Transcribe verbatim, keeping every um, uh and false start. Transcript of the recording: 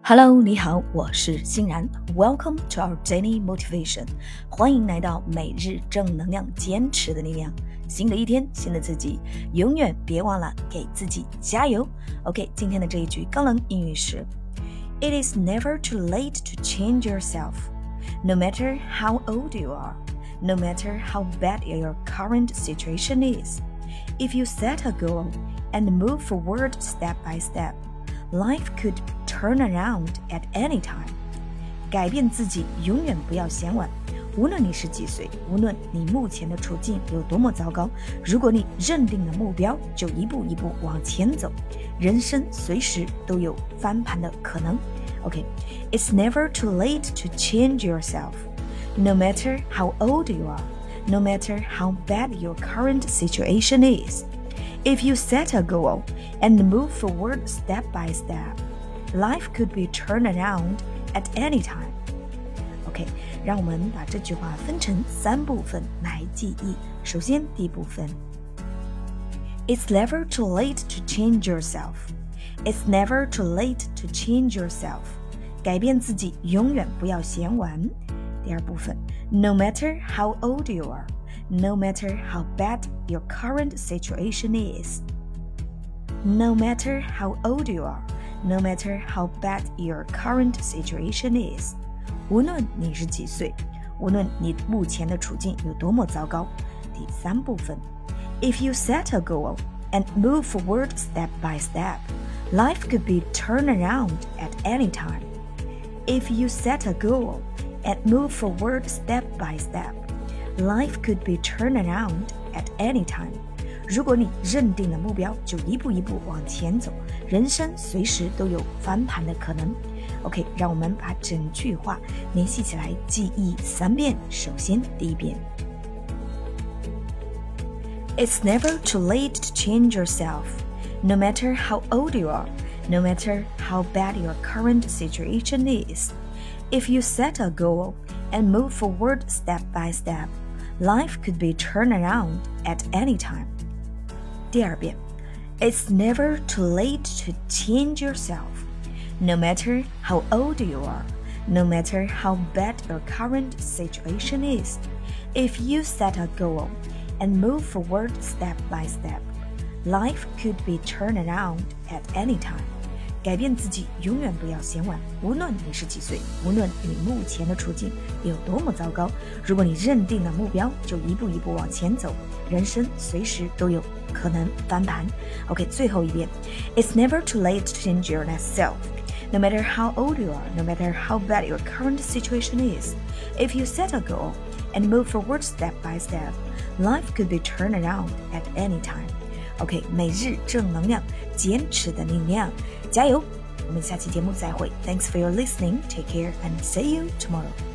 Hello， 你好，我是欣然。Welcome to our daily motivation。欢迎来到每日正能量，坚持的力量。新的一天，新的自己，永远别忘了给自己加油。OK， 今天的这一句高能英语是 ：It is never too late to change yourself, no matter how old you are, no matter how bad your current situation is. If you set a goal and move forward step by step.Life could turn around at any time. 改变自己永远不要嫌晚，无论你是几岁，无论你目前的处境有多么糟糕，如果你认定了目标，就一步一步往前走，人生随时都有翻盘的可能。OK, it's never too late to change yourself. No matter how old you are, no matter how bad your current situation is.If you set a goal and move forward step by step, life could be turned around at any time. OK, 让我们把这句话分成三部分来记忆。首先，第一部分 It's never too late to change yourself. It's never too late to change yourself. 改变自己永远不要嫌晚。第二部分 No matter how old you are.No matter how bad your current situation is. No matter how old you are, no matter how bad your current situation is. 无论你是几岁，无论你目前的处境有多么糟糕。第三部分 If you set a goal and move forward step by step, life could be turned around at any time. If you set a goal and move forward step by step,Life could be turned around at any time. 如果你认定了目标，就一步一步往前走，人生随时都有翻盘的可能。OK， 让我们把整句话联系起来，记忆三遍。首先，第一遍 It's never too late to change yourself, no matter how old you are, no matter how bad your current situation is. If you set a goal and move forward step by step,Life could be turned around at any time. 第二遍 It's never too late to change yourself, no matter how old you are, no matter how bad your current situation is. If you set a goal and move forward step by step, life could be turned around at any time.改变自己永远不要嫌晚，无论你是几岁，无论你目前的处境有多么糟糕，如果你认定了目标，就一步一步往前走，人生随时都有可能翻盘。OK， 最后一遍 It's never too late to change your self. No matter how old you are, no matter how bad your current situation is, if you set a goal and move forward step by step, life could be turned around at any time.OK， 每日正能量，坚持的力量，加油！我们下期节目再会。Thanks for your listening. Take care and see you tomorrow.